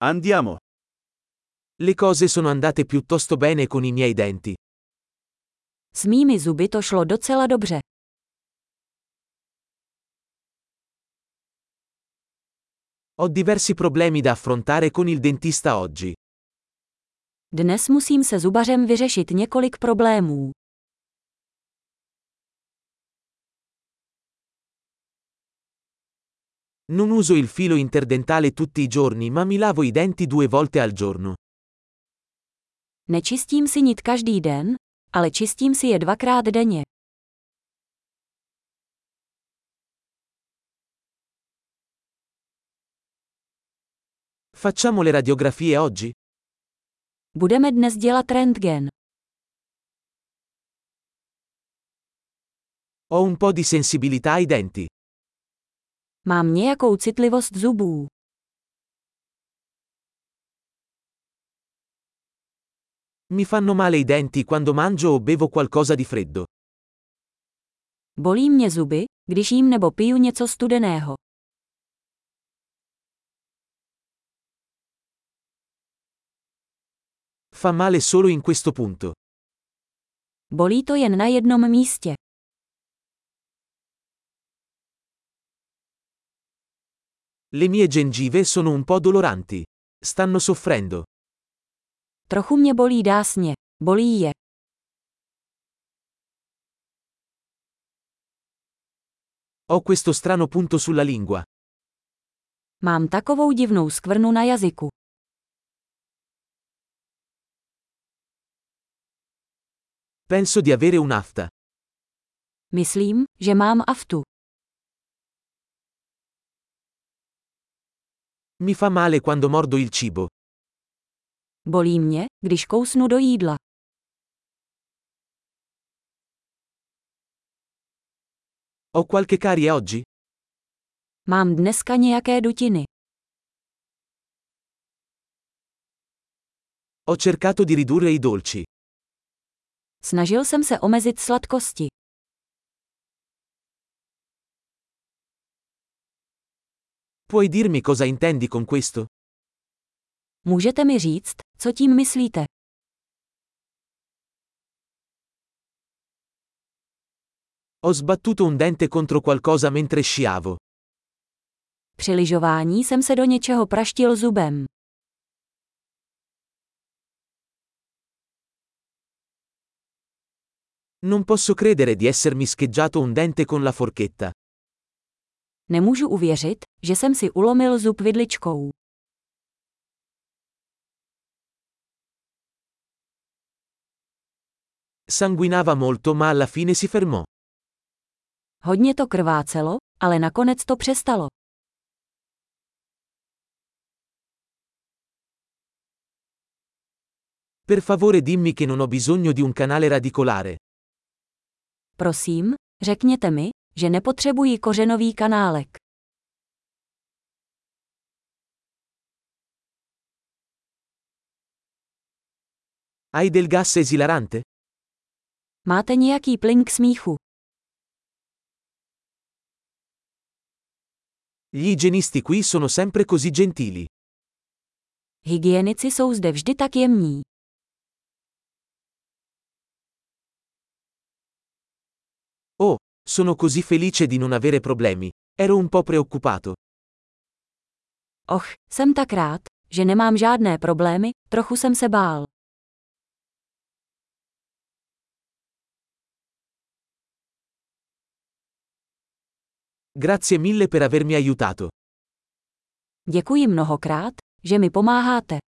Andiamo. Le cose sono andate piuttosto bene con i miei denti. S mými zuby to šlo docela dobře. Ho diversi problemi da affrontare con il dentista oggi. Dnes musím se zubařem vyřešit několik problémů. Non uso il filo interdentale tutti i giorni, ma mi lavo i denti 2 volte al giorno. Nečistím si nit každý den, ale čistím si je 2krát denně. Facciamo le radiografie oggi? Budeme dnes dělat rentgen. Ho un po' di sensibilità ai denti. Mám nějakou citlivost zubů. Mi fanno male i denti quando mangio o bevo qualcosa di freddo. Bolí mě zuby, když jím nebo piju něco studeného. Fa male solo in questo punto. Bolí to jen na jednom místě. Le mie gengive sono un po' doloranti. Stanno soffrendo. Trochu mě bolí dásně. Bolí je. Ho questo strano punto sulla lingua. Mám takovou divnou skvrnu na jazyku. Penso di avere un'afta. Myslím, že mám aftu. Mi fa male quando mordo il cibo. Bolí mě, když kousnu do jídla. Ho qualche carie oggi? Mám dneska nějaké dutiny. Ho cercato di ridurre i dolci. Snažil jsem se omezit sladkosti. Puoi dirmi cosa intendi con questo? Můžete mi říct, co tím myslíte? Ho sbattuto un dente contro qualcosa mentre sciavo. Při lyžování jsem se do něčeho praštil zubem. Non posso credere di essermi scheggiato un dente con la forchetta. Nemůžu uvěřit, že jsem si ulomil zub vidličkou. Sanguinava molto, ma alla fine si fermò. Hodně to krvácelo, ale nakonec to přestalo. Per favore dimmi che non ho bisogno di un canale radicolare. Prosím, řekněte mi, že nepotřebuji kořenový kanálek. Hai del gas esilarante? Máte nějaký plyn k smíchu? Gli igienisti qui sono sempre così gentili. Hygienici jsou zde vždy tak jemní. Oh, sono così felice di non avere problemi. Ero un po' preoccupato. Och, jsem tak rád, že nemám žádné problémy, trochu jsem se bál. Grazie mille per avermi aiutato. Děkuji mnohokrát, že mi pomáháte.